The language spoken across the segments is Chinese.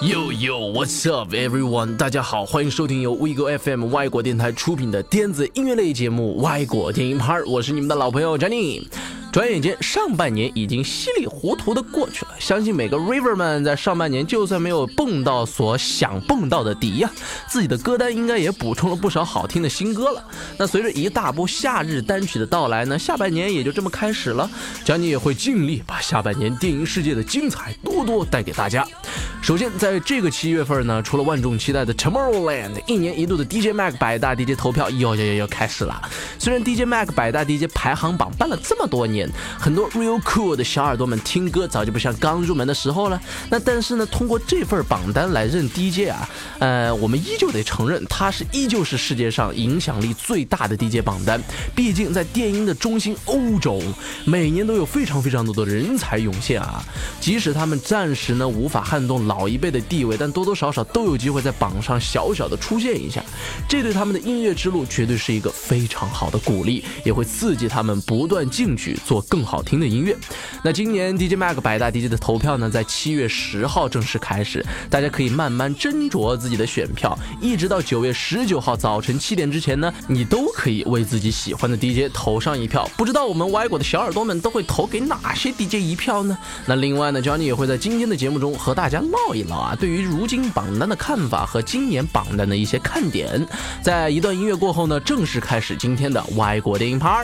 Yo yo, what's up, everyone？ 大家好，欢迎收听由 WeGo FM 外国电台出品的电子音乐类节目《外国电影派》，我是你们的老朋友 Johnny。转眼间，上半年已经稀里糊涂的过去了。相信每个 River 们在上半年，就算没有蹦到所想蹦到的底呀，自己的歌单应该也补充了不少好听的新歌了。那随着一大波夏日单曲的到来呢，下半年也就这么开始了。Johnny也会尽力把下半年电影世界的精彩多多带给大家。首先，在这个7月份呢，除了万众期待的 Tomorrowland， 一年一度的 DJ Mag 百大 DJ 投票又开始了。虽然 DJ Mag 百大 DJ 排行榜办了这么多年，很多 real cool 的小耳朵们听歌早就不像刚入门的时候了。那但是呢，通过这份榜单来认 DJ 啊，我们依旧得承认，它依旧是世界上影响力最大的 DJ 榜单。毕竟在电音的中心欧洲，每年都有非常多的人才涌现啊。即使他们暂时呢无法撼动老一辈的地位，但多多少少都有机会在榜上小小的出现一下。这对他们的音乐之路绝对是一个非常好的鼓励，也会刺激他们不断进取，做更好听的音乐。那今年 DJ Mag 百大 DJ 的投票呢，在7月10号正式开始，大家可以慢慢斟酌自己的选票，一直到9月19号早晨7点之前呢，你都可以为自己喜欢的 DJ 投上一票。不知道我们外国的小耳朵们都会投给哪些 DJ 一票呢？那另外呢 Johnny 也会在今天的节目中和大家唠一唠啊，对于如今榜单的看法和今年榜单的一些看点。在一段音乐过后呢，正式开始今天的外国电影派。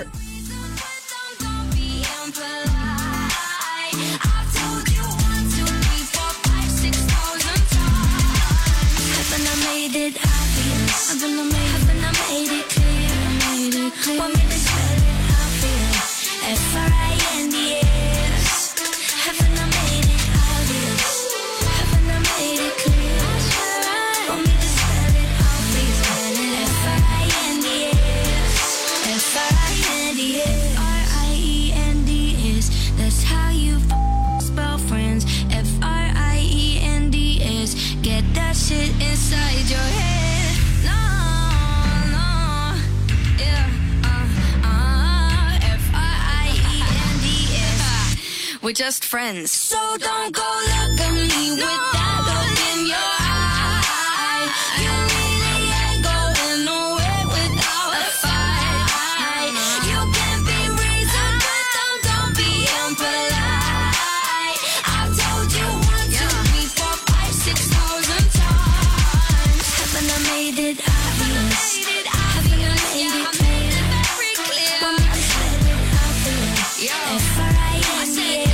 We're just friends. So don't go look at me with that look in your eye. You really ain't going nowhere without a fight. You can be reasonable, don't be impolite. I've told you 1, 2, 3, 4, 5, 6,000 times. Haven't I made it obvious? Haven't I made it clear? Want me to spell it out for you? F-R-I-N-D-A.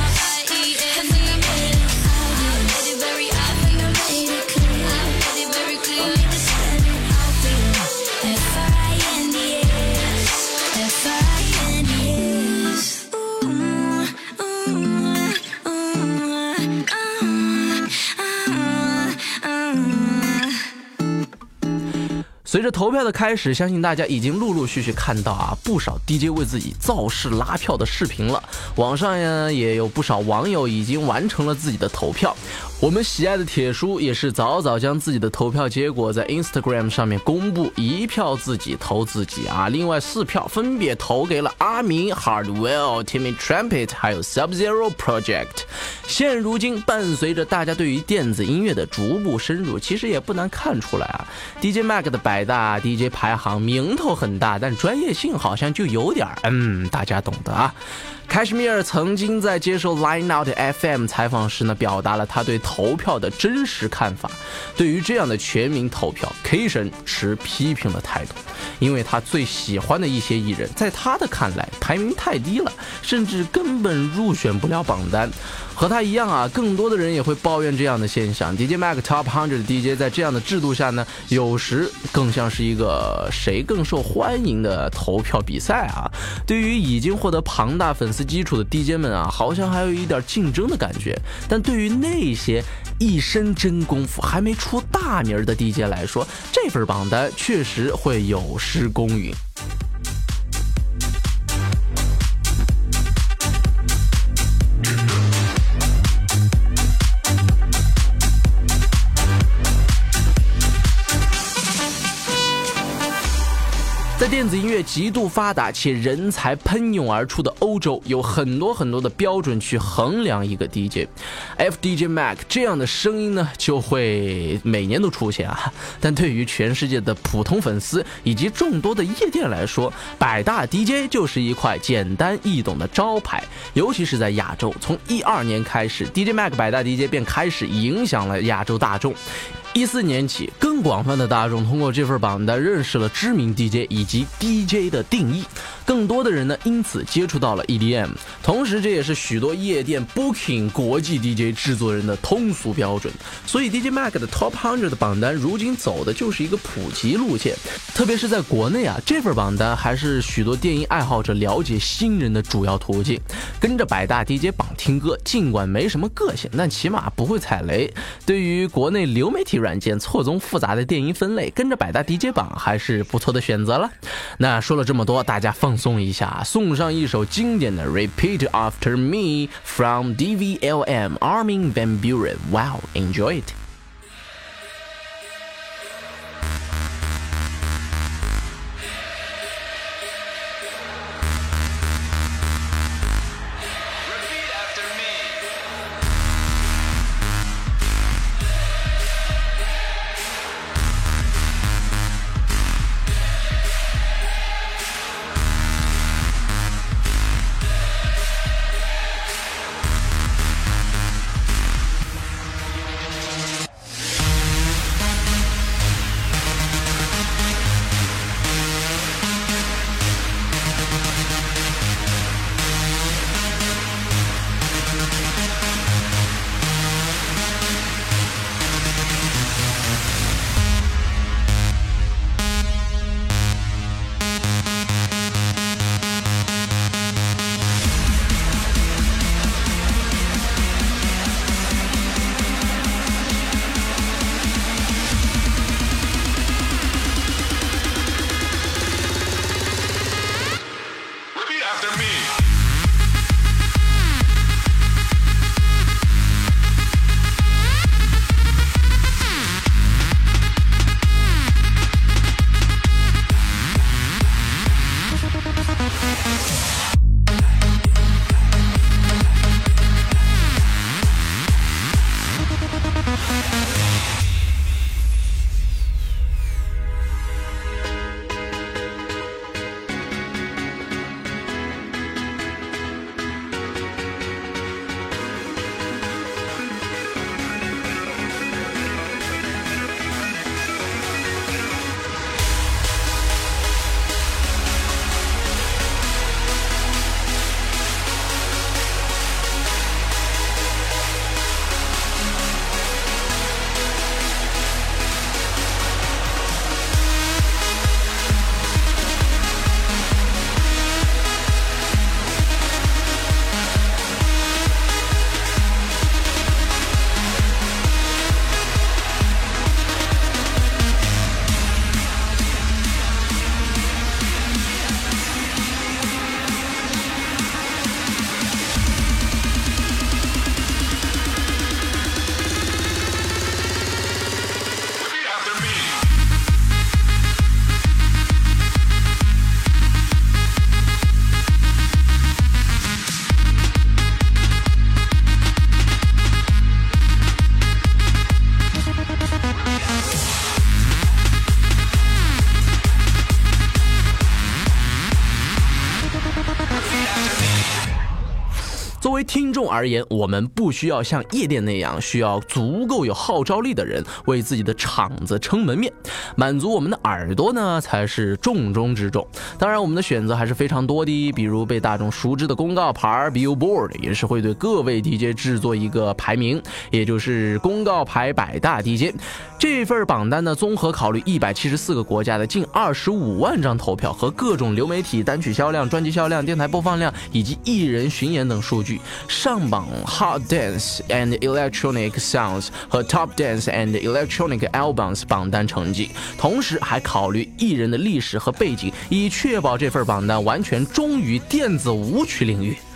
随着投票的开始，相信大家已经陆陆续续看到啊，不少 DJ 为自己造势拉票的视频了。网上呀也有不少网友已经完成了自己的投票。我们喜爱的铁叔也是早早将自己的投票结果在 Instagram 上面公布，1票自己投自己啊，另外4票分别投给了阿明、Hardwell、Timmy Trumpet 还有 Sub-Zero Project。现如今伴随着大家对于电子音乐的逐步深入，其实也不难看出来啊 DJ Mag 的百大 DJ 排行名头很大，但专业性好像就有点大家懂得啊。凯什米尔曾经在接受 Line Out FM 采访时呢，表达了他对投票的真实看法。对于这样的全民投票 ，K 神持批评的态度，因为他最喜欢的一些艺人，在他的看来排名太低了，甚至根本入选不了榜单。和他一样啊，更多的人也会抱怨这样的现象。DJ Mag Top 100 DJ 在这样的制度下呢，有时更像是一个谁更受欢迎的投票比赛啊。对于已经获得庞大粉丝基础的 DJ 们啊，好像还有一点竞争的感觉。但对于那些一身真功夫还没出大名的 DJ 来说，这份榜单确实会有失公允。在电子音乐极度发达且人才喷涌而出的欧洲，有很多的标准去衡量一个 DJ。FDJ Mac 这样的声音呢，就会每年都出现啊。但对于全世界的普通粉丝以及众多的夜店来说，百大 DJ 就是一块简单易懂的招牌。尤其是在亚洲，从12年开始 ，DJ Mac 百大 DJ 便开始影响了亚洲大众。14年起，更广泛的大众通过这份榜单认识了知名 DJ 以及 DJ 的定义，更多的人呢因此接触到了 EDM， 同时这也是许多夜店 Booking 国际 DJ 制作人的通俗标准。所以 DJ Mac 的 Top 100的榜单如今走的就是一个普及路线，特别是在国内啊，这份榜单还是许多电音爱好者了解新人的主要途径。跟着百大 DJ 榜听歌，尽管没什么个性，但起码不会踩雷。对于国内流媒体软件错综复杂的电音分类，跟着百大 DJ 榜还是不错的选择了。那说了这么多，大家放松一下，送上一首经典的 Repeat After Me from DVLM Armin van Buuren. Wow, enjoy it.作为听众而言，我们不需要像夜店那样需要足够有号召力的人为自己的场子撑门面，满足我们的耳朵呢才是重中之重。当然我们的选择还是非常多的，比如被大众熟知的公告牌 Billboard 也是会对各位 DJ 制作一个排名，也就是公告牌百大 DJ。 这份榜单呢综合考虑174个国家的近25万张投票和各种流媒体单曲销量、专辑销量、电台播放量以及艺人巡演等数据，上榜 Hot Dance and Electronic Sounds 和 Top Dance and Electronic Albums 榜单成绩，同时还考虑艺人的历史和背景，以确保这份榜单完全忠于电子舞曲领域。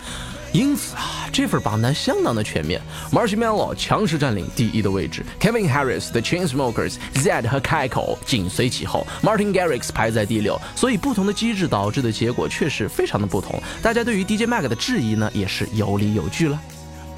因此啊，这份榜单相当的全面。Marshmello 强势占领第一的位置 ，Kevin Harris 的 Chainsmokers、Zedd 和 Keiko 紧随其后 ，Martin Garrix 排在第6。所以不同的机制导致的结果确实非常的不同。大家对于 DJ Mag 的质疑呢，也是有理有据了。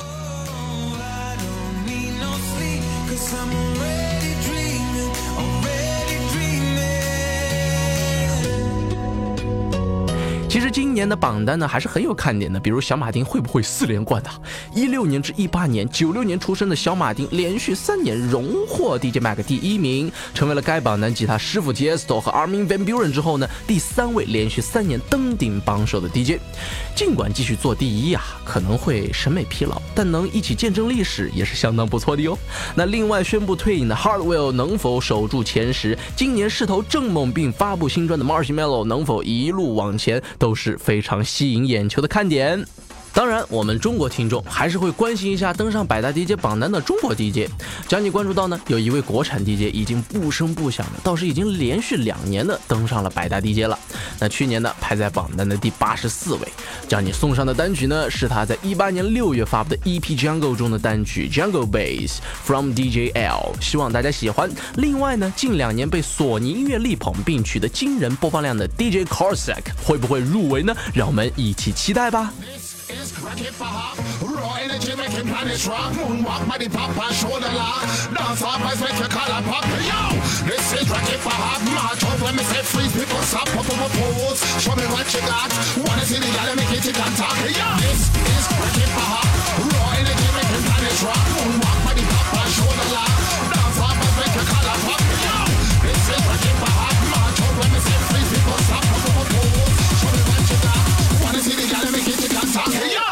其实今年的榜单呢还是很有看点的，比如小马丁会不会4连冠啊？16年至18年，96年出生的小马丁连续3年荣获 DJ Mag 第1名，成为了该榜单继他师傅 Tiesto 和 Armin van Buuren 之后呢，第3位连续3年登顶榜首的 DJ。尽管继续做第1啊，可能会审美疲劳，但能一起见证历史也是相当不错的哟。那另外宣布退隐的 Hardwell 能否守住前10？今年势头正猛并发布新专的 Marshmello 能否一路往前？都是非常吸引眼球的看点。当然，我们中国听众还是会关心一下登上百大 DJ 榜单的中国 DJ。将你关注到呢，有一位国产 DJ 已经不声不响的，倒是已经连续2年的登上了百大 DJ 了。那去年呢，排在榜单的第84位。将你送上的单曲呢，是他在18年6月发布的 EP Jungle 中的单曲 Jungle Bass from DJ L， 希望大家喜欢。另外呢，近2年被索尼音乐力捧并取得惊人播放量的 DJ Corsac 会不会入围呢？让我们一起期待吧。 Rock it for hop, raw energy making planets rock. Moonwalk, body pop and shoulder lock. Dance off as make your collar pop. Yo, this is rock it for hop. March over when me say freeze, people stop, pop up a pose. Show me what you got. Wanna see the yellow make it and talk. Yo, this is rock it for hop, raw energy making planets rock. Moonwalk, body pop and shoulder lock. Dance off as make your collar pop. Yo, this is rock it for hop. March over when me say freeze, people stop, pop up a pose. Show me what you got. Wanna see the yellow make it and talk. Yo.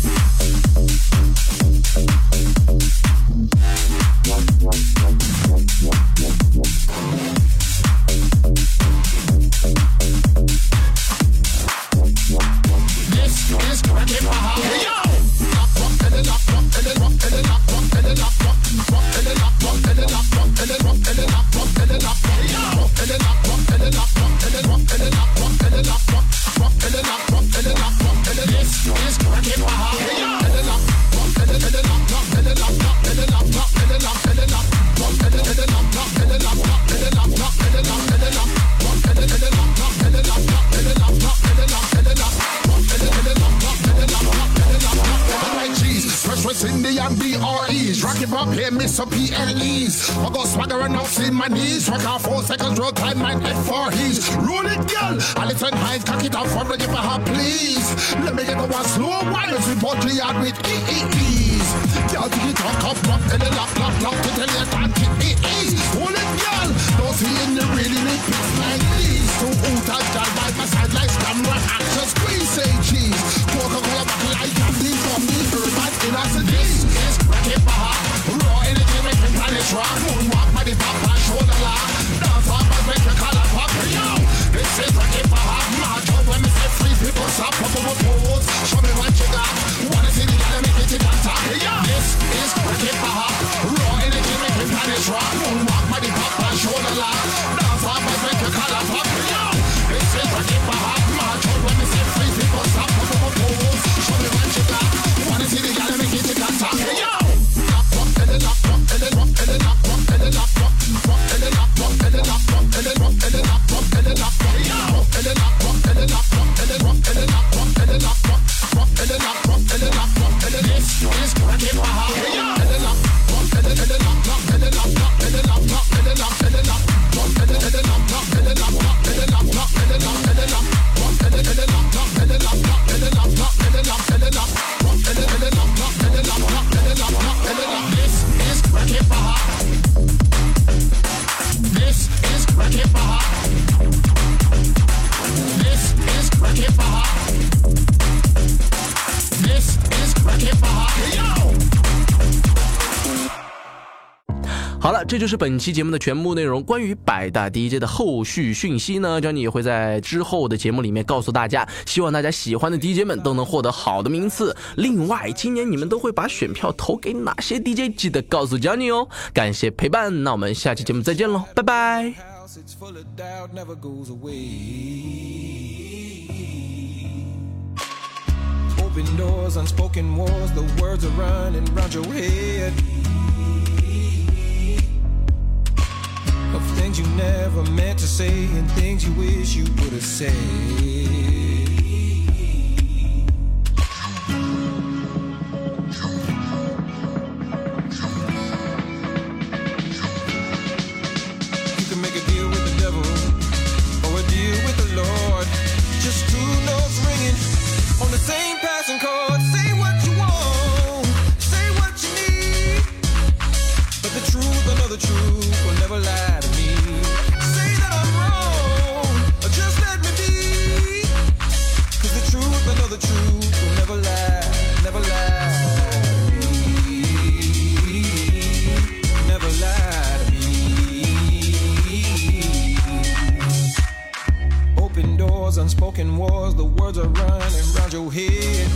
Some PLEs, I go swagger and out in my knees. Track out 4 seconds, real time, my F4 he's. Roll it, girl. I listen high, cock it out for me, give a hop, please. Let me get the one slow wires with body yard with EEEs. Girl, take it up, rock, and then lock, to tell you that it is. Roll it, girl. Don't see in the really need pics like these. So out of girl by my side like camera action, squeeze, say cheese. Coca-Cola back like candy from the urban innocent. This is rocket bar. Raw energy making planets rock. Moonwalk, body pop and shoulder lock. Dance off and make your collar pop. Yo, this is rocket bar. March over when me say freeze, people stop, pop up a pose. Show me what you got. Wanna see the guy make it and talk. Yo, this is rocket bar. Raw energy making planets rock. Moonwalk, body pop and shoulder lock. Dance off and make your collar pop. Yo, this is rocket bar. March over when me say freeze, people stop, pop up a pose. Show me what you got. Wanna see the guy make it and talk. Yo. 好了，这就是本期节目的全部内容。关于百大 DJ 的后续讯息呢，Johnny也会在之后的节目里面告诉大家，希望大家喜欢的 DJ 们都能获得好的名次。另外，今年你们都会把选票投给哪些 DJ， 记得告诉 Johnny 哦。感谢陪伴，那我们下期节目再见喽，拜拜。 Open doors, unspoken wars, the words are running round your head. Of things you never meant to say and things you wish you would have said. You can make a deal with the devil or a deal with the Lord. Just two notes ringing on the same passing chord. Say what you want, say what you need, but the truth, I know the truth will never lie to me. Say that I'm wrong, or just let me be, 'cause the truth, I know the truth will never lie, never lie to me, never lie to me. Open doors, unspoken wars, the words are running round your head.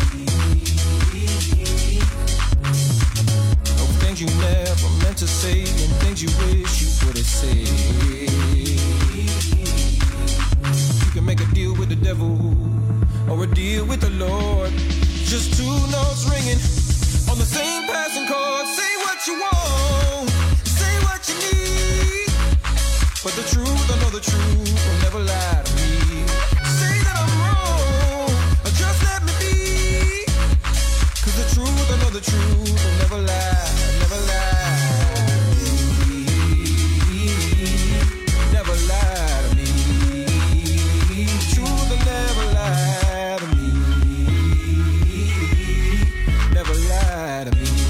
Of things you never meant to say and things you wish you would have said. You can make a deal with the devil or a deal with the Lord. Just two notes ringing on the same passing chord. Say what you want, say what you need, but the truth, I know the truth will never lie to me. Say that I'm wrong, or just let me be, 'cause the truth, I know the truth will never lie, never lie to me, never lie to me. Truth will never lie to me, never lie to me.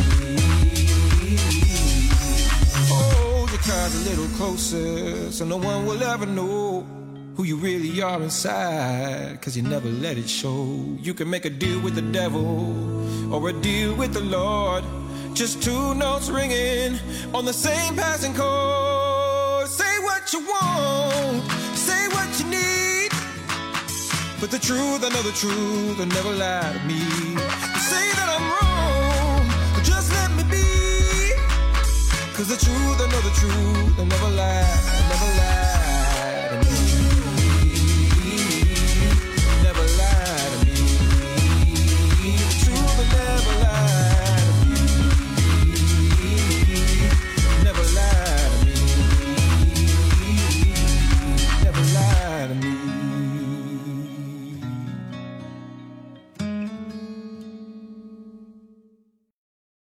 Hold your cards a little closer so no one will ever know who you really are inside, 'cause you never let it show. You can make a deal with the devil or a deal with the Lord. Just two notes ringing on the same passing chord. Say what you want, say what you need, but the truth, I know the truth will never lie to me. Say that I'm wrong, but just let me be, 'cause the truth, I know the truth will never lie, never lie.